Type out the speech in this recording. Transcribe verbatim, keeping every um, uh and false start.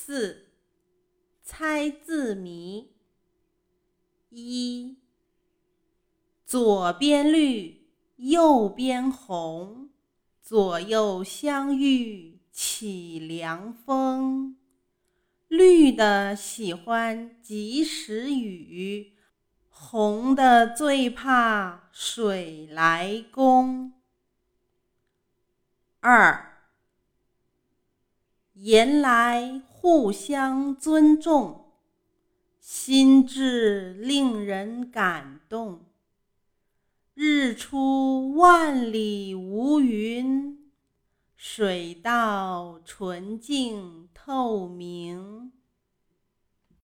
四、猜字谜。一、左边绿，右边红，左右相遇起凉风。绿的喜欢及时雨，红的最怕水来攻。二、言来互相尊重，心智令人感动。日出万里无云，水到纯净透明。